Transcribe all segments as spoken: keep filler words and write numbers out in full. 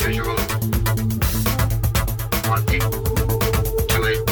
visual. One, two, eight.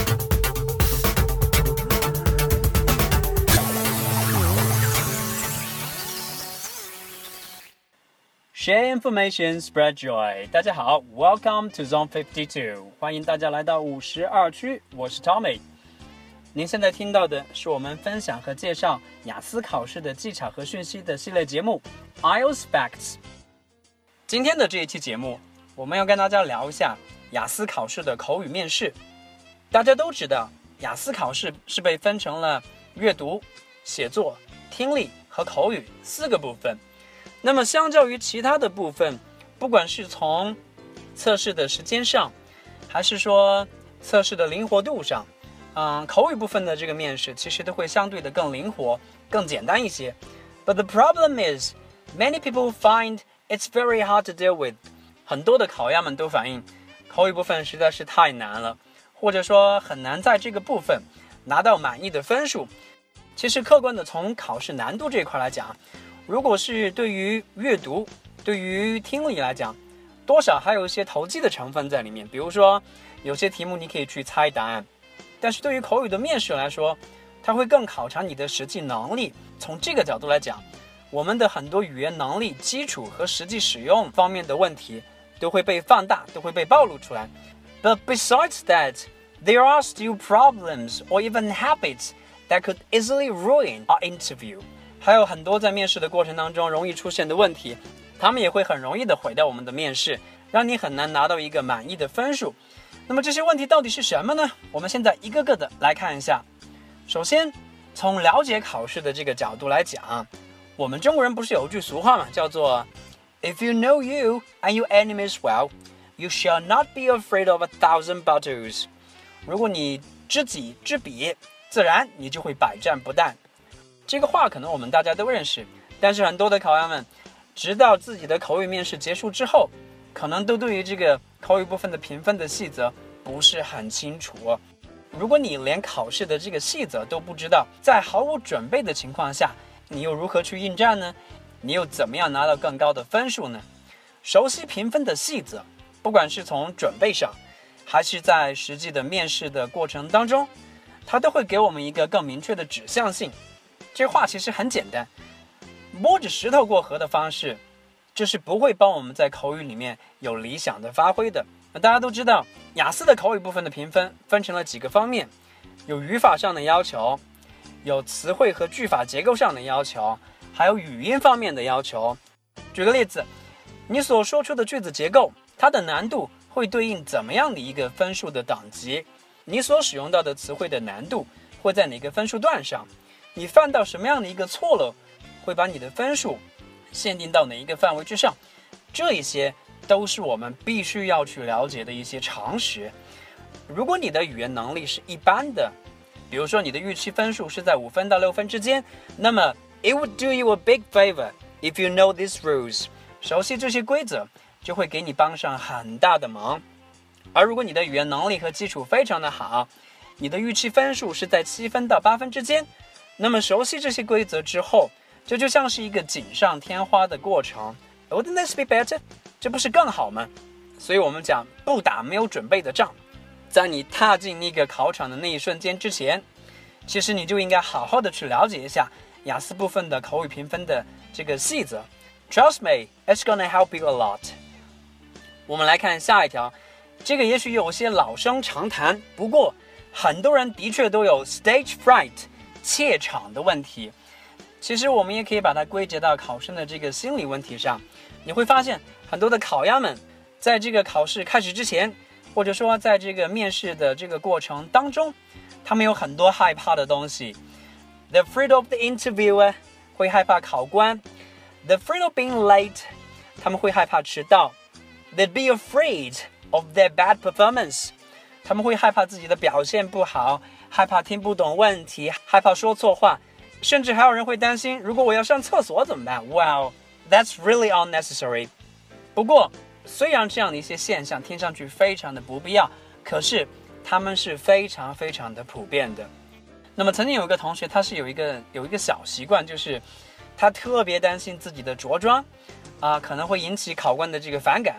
Share information, spread joy. 大家好 ，Welcome to Zone fifty-two. 欢迎大家来到五十二区，我是 Tommy。您现在听到的是我们分享和介绍雅思考试的技巧和讯息的系列节目 I E L T S Facts。今天的这一期节目，我们要跟大家聊一下雅思考试的口语面试。大家都知道，雅思考试是被分成了阅读、写作、听力和口语四个部分。那么相较于其他的部分，不管是从测试的时间上，还是说测试的灵活度上，嗯，口语部分的这个面试其实都会相对的更灵活、更简单一些。But the problem is, many people find it's very hard to deal with. 很多的考鸭们都反映，口语部分实在是太难了，或者说很难在这个部分拿到满意的分数。其实客观的从考试难度这一块来讲，如果是对于阅读、对于听力来讲，多少还有一些投机的成分在里面。比如说，有些题目你可以去猜答案，但是对于口语的面试来说，它会更考察你的实际能力。从这个角度来讲，我们的很多语言能力基础和实际使用方面的问题都会被放大，都会被暴露出来。But besides that, there are still problems or even habits that could easily ruin our interview. 还有很多在面试的过程当中容易出现的问题，他们也会很容易的毁掉我们的面试，让你很难拿到一个满意的分数。那么这些问题到底是什么呢？我们现在一个个的来看一下。首先，从了解考试的这个角度来讲，我们中国人不是有句俗话嘛，叫做 If you know you and your enemies well, you shall not be afraid of a thousand battles. 如果你知己知彼，自然你就会百战不殆。这个话可能我们大家都认识，但是很多的考员们直到自己的口语面试结束之后，可能都对于这个口语部分的评分的细则不是很清楚。如果你连考试的这个细则都不知道，在毫无准备的情况下，你又如何去应战呢？你又怎么样拿到更高的分数呢？熟悉评分的细则，不管是从准备上，还是在实际的面试的过程当中，它都会给我们一个更明确的指向性。这话其实很简单，摸着石头过河的方式，就是不会帮我们在口语里面有理想的发挥的。那大家都知道，雅思的口语部分的评分分成了几个方面，有语法上的要求，有词汇和句法结构上的要求，还有语音方面的要求。举个例子，你所说出的句子结构，它的难度会对应怎么样的一个分数的等级？你所使用到的词汇的难度会在哪个分数段上？你犯到什么样的一个错漏，会把你的分数限定到哪一个范围之上？这一些都是我们必须要去了解的一些常识。如果你的语言能力是一般的，比如说你的预期分数是在五分到六分之间，那么 it would do you a big favor if you know these rules. 熟悉这些规则就会给你帮上很大的忙。而如果你的语言能力和基础非常的好，你的预期分数是在七分到八分之间，那么熟悉这些规则之后，这就像是一个锦上添花的过程。 Wouldn't this be better? 这不是更好吗？所以我们讲不打没有准备的仗，在你踏进那个考场的那一瞬间之前，其实你就应该好好的去了解一下雅思部分的口语评分的这个细则。 Trust me, it's gonna help you a lot. 我们来看下一条，这个也许有些老生常谈，不过很多人的确都有 stage fright怯场的问题。其实我们也可以把它归结到考生的这个心理问题上。你会发现很多的考鸭们在这个考试开始之前，或者说在这个面试的这个过程当中，他们有很多害怕的东西。 They're afraid of the interviewer, 会害怕考官。 They're afraid of being late, 他们会害怕迟到。 They'd be afraid of their bad performance, 他们会害怕自己的表现不好，害怕听不懂问题，害怕说错话，甚至还有人会担心，如果我要上厕所怎么办？ Wow, that's really unnecessary. 不过虽然这样的一些现象听上去非常的不必要，可是他们是非常非常的普遍的。那么曾经有一个同学，他是有一个有一个小习惯，就是他特别担心自己的着装啊、呃，可能会引起考官的这个反感，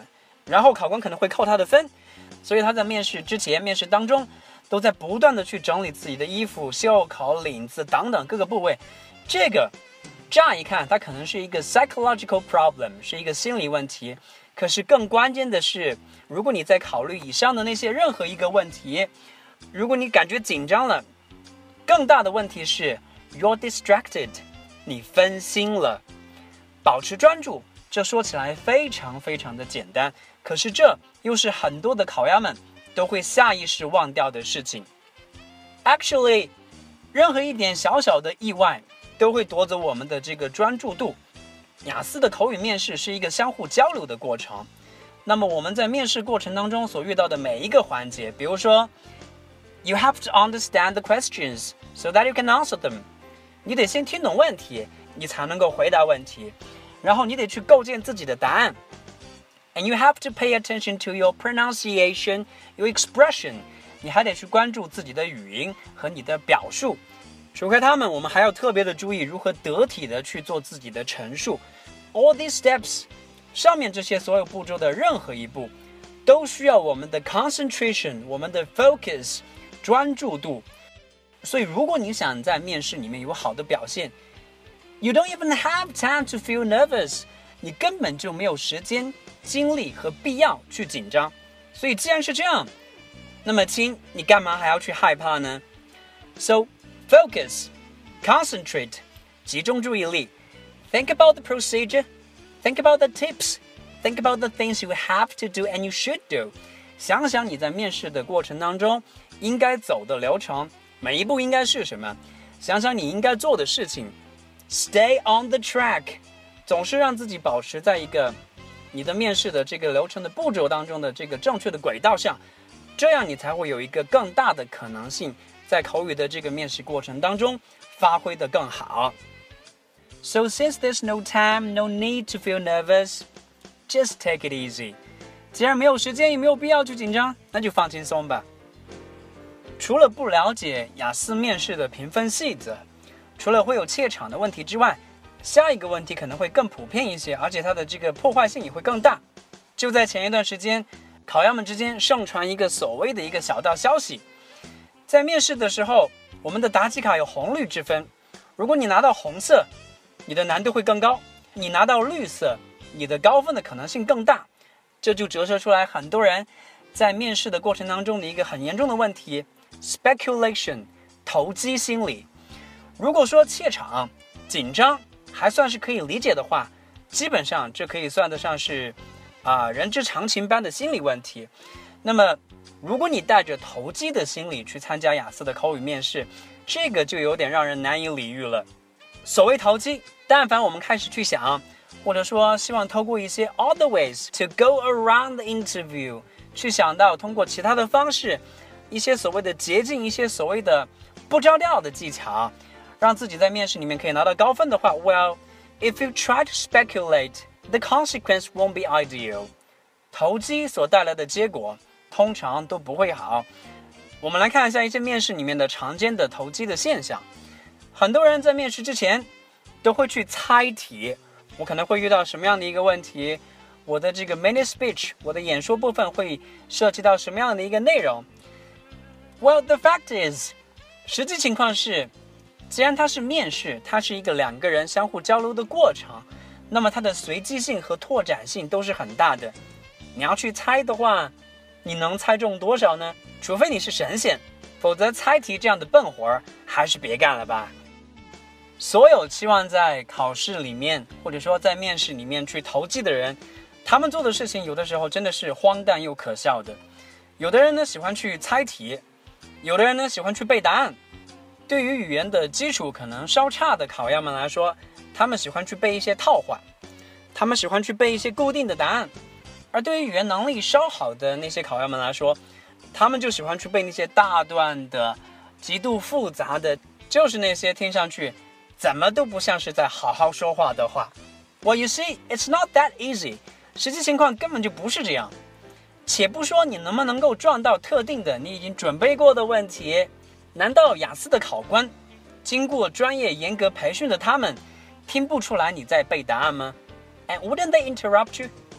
然后考官可能会扣他的分，所以他在面试之前、面试当中都在不断的去整理自己的衣服、袖口、领子等等各个部位。这个乍一看它可能是一个 psychological problem， 是一个心理问题，可是更关键的是，如果你在考虑以上的那些任何一个问题，如果你感觉紧张了，更大的问题是 you're distracted， 你分心了。保持专注，这说起来非常非常的简单，可是这又是很多的考研们都会下意识忘掉的事情。 Actually， 任何一点小小的意外都会夺走我们的这个专注度。雅思的口语面试是一个相互交流的过程，那么我们在面试过程当中所遇到的每一个环节，比如说 You have to understand the questions so that you can answer them， 你得先听懂问题，你才能够回答问题，然后你得去构建自己的答案。And you have to pay attention to your pronunciation, your expression， 你还得去关注自己的语音和你的表述。除开他们，我们还要特别的注意如何得体的去做自己的陈述。All these steps， 上面这些所有步骤的任何一步，都需要我们的 concentration， 我们的 focus， 专注度。所以如果你想在面试里面有好的表现， You don't even have time to feel nervous， 你根本就没有时间、精力和必要去紧张。所以既然是这样，那么亲，你干嘛还要去害怕呢？ So focus, concentrate， 集中注意力。Think about the procedure, think about the tips, think about the things you have to do and you should do。 想想你在面试的过程当中应该走的流程，每一步应该是什么，想想你应该做的事情。Stay on the track， 总是让自己保持在一个你的面试的这个流程的步骤当中的这个正确的轨道上，这样你才会有一个更大的可能性在口语的这个面试过程当中发挥得更好。 So since there's no time, no need to feel nervous, just take it easy。 既然没有时间也没有必要去紧张，那就放轻松吧。除了不了解雅思面试的评分细则，除了会有怯场的问题之外，下一个问题可能会更普遍一些，而且它的这个破坏性也会更大。就在前一段时间，考研们之间盛传一个所谓的一个小道消息，在面试的时候，我们的答题卡有红绿之分，如果你拿到红色，你的难度会更高，你拿到绿色，你的高分的可能性更大。这就折射出来很多人在面试的过程当中的一个很严重的问题， speculation， 投机心理。如果说怯场、紧张还算是可以理解的话，基本上这可以算得上是啊、呃、人之常情般的心理问题。那么如果你带着投机的心理去参加雅思的口语面试，这个就有点让人难以理喻了。所谓投机，但凡我们开始去想，或者说希望透过一些 other ways to go around the interview， 去想到通过其他的方式，一些所谓的捷径，一些所谓的不着调的技巧，让自己在面试里面可以拿到高分的话， Well, if you try to speculate, the consequence won't be ideal。 投机所带来的结果通常都不会好。我们来看一下一些面试里面的常见的投机的现象。很多人在面试之前都会去猜题，我可能会遇到什么样的一个问题，我的这个 mini speech， 我的演说部分会涉及到什么样的一个内容。 Well, the fact is， 实际情况是，既然它是面试，它是一个两个人相互交流的过程，那么它的随机性和拓展性都是很大的。你要去猜的话，你能猜中多少呢？除非你是神仙，否则猜题这样的笨活还是别干了吧。所有期望在考试里面或者说在面试里面去投机的人，他们做的事情有的时候真的是荒诞又可笑的。有的人呢喜欢去猜题，有的人呢喜欢去背答案。对于语言的基础可能稍差的考研们来说，他们喜欢去背一些套话，他们喜欢去背一些固定的答案。而对于语言能力稍好的那些考研们来说，他们就喜欢去背那些大段的极度复杂的，就是那些听上去怎么都不像是在好好说话的话。 Well, you see, it's not that easy。 实际情况根本就不是这样。且不说你能不能够撞到特定的你已经准备过的问题，难道雅思的考官经过专业严格培训的他们听不出来你在背答案吗？ And wouldn't they interrupt you？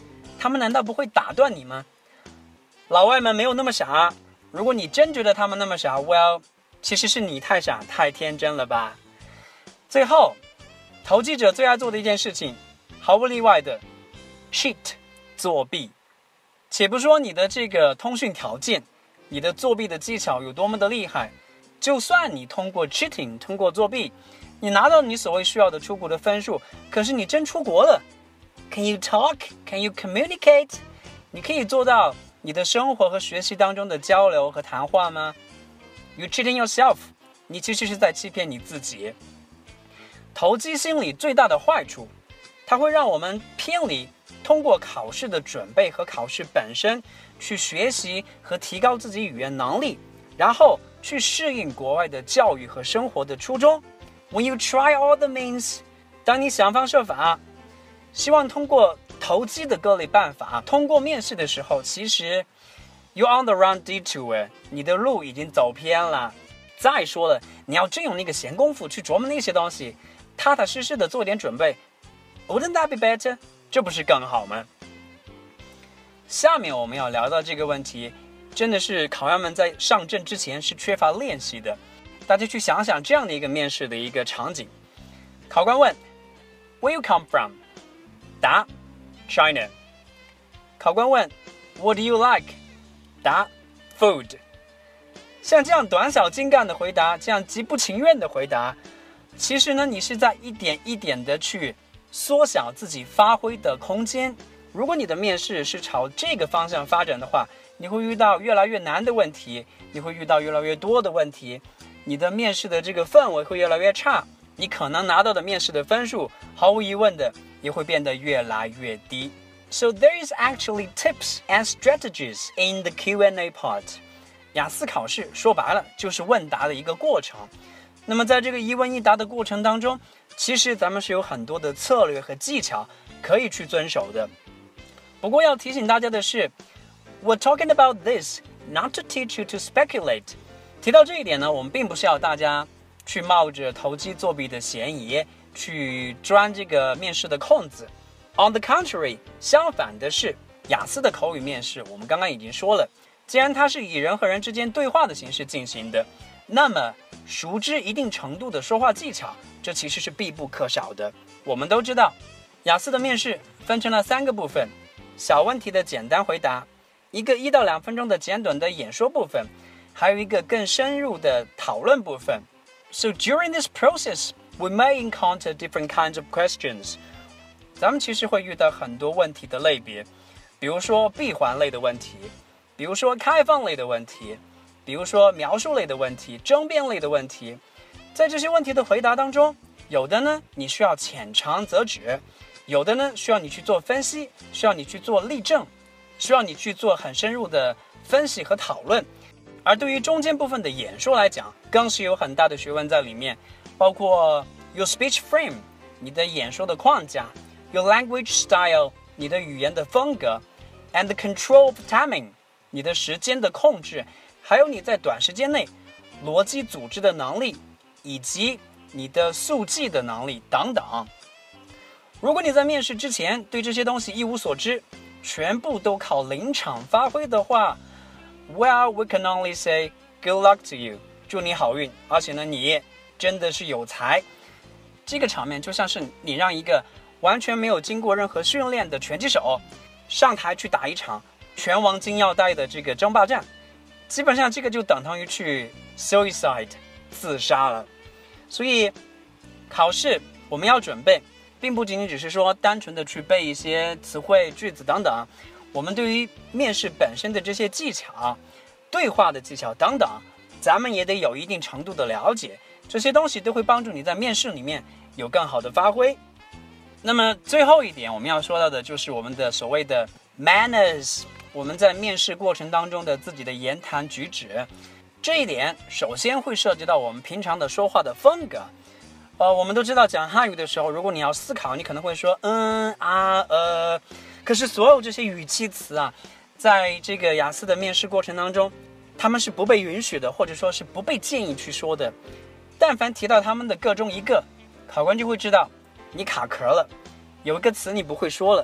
他们难道不会打断你吗？老外们没有那么傻，如果你真觉得他们那么傻 well 其实是你太傻太天真了吧。最后投机者最爱做的一件事情，毫不例外的 cheat 作弊。且不说你的这个通讯条件，你的作弊的技巧有多么的厉害，就算你通过 cheating 通过作弊，你拿到你所谓需要的出国的分数，可是你真出国了， Can you talk? Can you communicate? 你可以做到你的生活和学习当中的交流和谈话吗？ You cheating yourself. 你其实是在欺骗你自己。投机心理最大的坏处，它会让我们偏离通过考试的准备和考试本身去学习和提高自己语言能力，然后去适应国外的教育和生活的初衷。When you try all the means， 当你想方设法希望通过投机的各类办法通过面试的时候，其实 you're on the wrong detour， 你的路已经走偏了。再说了，你要真有那个闲工夫去琢磨那些东西，踏踏实实的做点准备， Wouldn't that be better？ 这不是更好吗？下面我们要聊到这个问题，真的是考员们在上阵之前是缺乏练习的。大家去想想这样的一个面试的一个场景，考官问 Where you come from？ 答 China。 考官问 What do you like？ 答 Food。 像这样短小精干的回答，这样极不情愿的回答，其实呢，你是在一点一点的去缩小自己发挥的空间。如果你的面试是朝这个方向发展的话，你会遇到越来越难的问题，你会遇到越来越多的问题，你的面试的这个氛围会越来越差，你可能拿到的面试的分数毫无疑问的也会变得越来越低。 So there is actually tips and strategies in the Q and A part。 雅思考试说白了就是问答的一个过程，那么在这个一问一答的过程当中，其实咱们是有很多的策略和技巧可以去遵守的。不过要提醒大家的是， We're talking about this not to teach you to speculate。 提到这一点呢，我们并不是要大家去冒着投机作弊的嫌疑去钻这个面试的空子。 On the contrary， 相反的是，雅思的口语面试我们刚刚已经说了，既然它是以人和人之间对话的形式进行的，那么熟知一定程度的说话技巧，这其实是必不可少的。我们都知道，雅思的面试分成了三个部分：小问题的简单回答，一个一到两分钟的简短的演说部分，还有一个更深入的讨论部分。 So during this process, we may encounter different kinds of questions。 咱们其实会遇到很多问题的类别，比如说闭环类的问题，比如说开放类的问题，比如说描述类的问题，争辩类的问题。在这些问题的回答当中，有的呢你需要浅尝辄止，有的呢需要你去做分析，需要你去做例证，需要你去做很深入的分析和讨论。而对于中间部分的演说来讲，更是有很大的学问在里面，包括 your speech frame， 你的演说的框架， your language style， 你的语言的风格， and the control of timing， 你的时间的控制，还有你在短时间内逻辑组织的能力，以及你的速记的能力等等。如果你在面试之前对这些东西一无所知，全部都靠临场发挥的话， Well, we can only say good luck to you， 祝你好运，而且呢，你真的是有才。这个场面就像是你让一个完全没有经过任何训练的拳击手上台去打一场拳王金腰带的这个争霸战，基本上这个就等同于去 suicide 自杀了。所以考试我们要准备，并不仅仅只是说单纯的去背一些词汇句子等等，我们对于面试本身的这些技巧，对话的技巧等等，咱们也得有一定程度的了解，这些东西都会帮助你在面试里面有更好的发挥。那么最后一点我们要说到的就是我们的所谓的 manners， 我们在面试过程当中的自己的言谈举止。这一点首先会涉及到我们平常的说话的风格。呃，我们都知道讲汉语的时候，如果你要思考，你可能会说嗯啊呃，可是所有这些语气词啊，在这个雅思的面试过程当中，他们是不被允许的，或者说是不被建议去说的。但凡提到他们的各中一个，考官就会知道你卡壳了，有一个词你不会说了。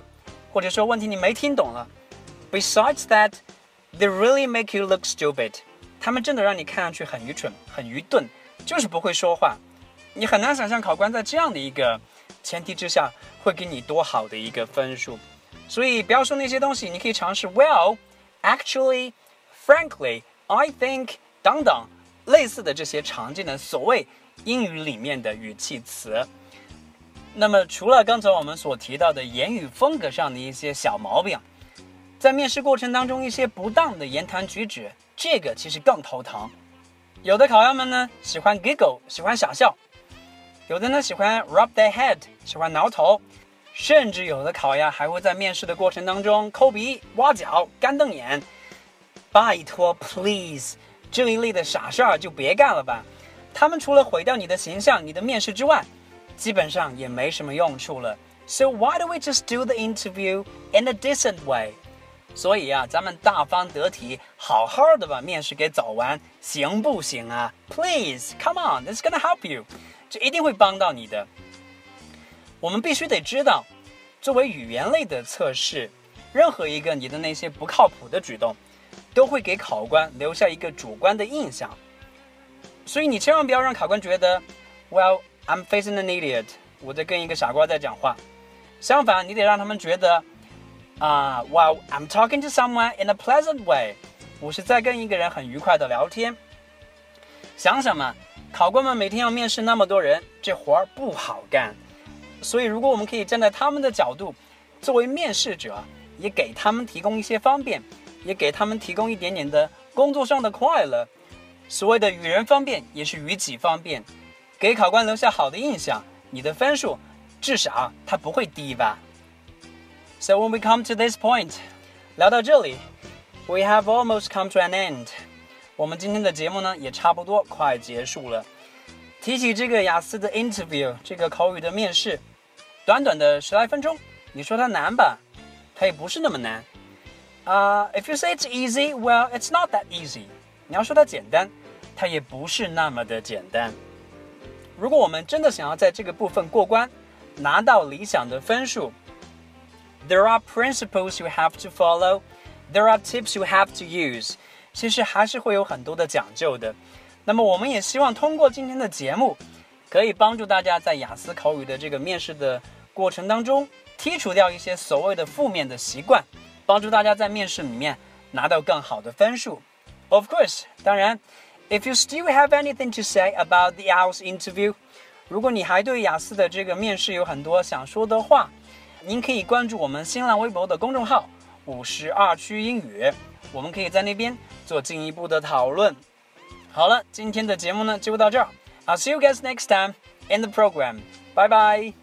或者说问题你没听懂了。Besides that, they really make you look stupid. 他们真的让你看上去很愚蠢、很愚钝，就是不会说话。你很难想象考官在这样的一个前提之下会给你多好的一个分数。所以不要说那些东西，你可以尝试 Well, actually, frankly, I think 等等类似的这些常见的所谓英语里面的语气词。那么除了刚才我们所提到的言语风格上的一些小毛病，在面试过程当中一些不当的言谈举止，这个其实更头疼。有的考员们呢喜欢 giggle， 喜欢傻笑，有的呢喜欢 rub their head， 喜欢挠头，甚至有的考员还会在面试的过程当中抠鼻、挖脚、干瞪眼。拜托 please， 这一类的傻事儿就别干了吧，他们除了毁掉你的形象、你的面试之外，基本上也没什么用处了。 So why don't we just do the interview in a decent way？ 所以啊，咱们大方得体，好好的把面试给走完，行不行啊？ Please, come on, it's gonna help you， 这一定会帮到你的。我们必须得知道，作为语言类的测试，任何一个你的那些不靠谱的举动，都会给考官留下一个主观的印象。所以你千万不要让考官觉得 Well, I'm facing an idiot， 我在跟一个傻瓜在讲话。相反，你得让他们觉得啊、uh, Well, I'm talking to someone in a pleasant way， 我是在跟一个人很愉快的聊天。想想嘛，考官们每天要面试那么多人，这活儿不好干。所以如果我们可以站在他们的角度，作为面试者，也给他们提供一些方便，也给他们提供一点点的工作上的快乐。所谓的与人方便，也是与己方便。给考官留下好的印象，你的分数至少它不会低吧。 So when we come to this point， 聊到这里 We have almost come to an end。 我们今天的节目呢也差不多快结束了。提起这个雅思的 interview， 这个口语的面试，短短的十来分钟，你说它难吧，它也不是那么难。uh, If you say it's easy, well, it's not that easy。 你要说它简单，它也不是那么的简单。如果我们真的想要在这个部分过关，拿到理想的分数， There are principles you have to follow, there are tips you have to use， 其实还是会有很多的讲究的。那么我们也希望通过今天的节目，可以帮助大家在雅思口语的这个面试的过程当中，剔除掉一些所谓的负面的习惯，帮助大家在面试里面拿到更好的分数。 Of course， 当然If you still have anything to say about the I E L T S interview， 如果你还对雅思的这个面试有很多想说的话，您可以关注我们新浪微博的公众号五十二区英语，我们可以在那边做进一步的讨论。好了，今天的节目呢就到这儿。I'll see you guys next time in the program. Bye bye.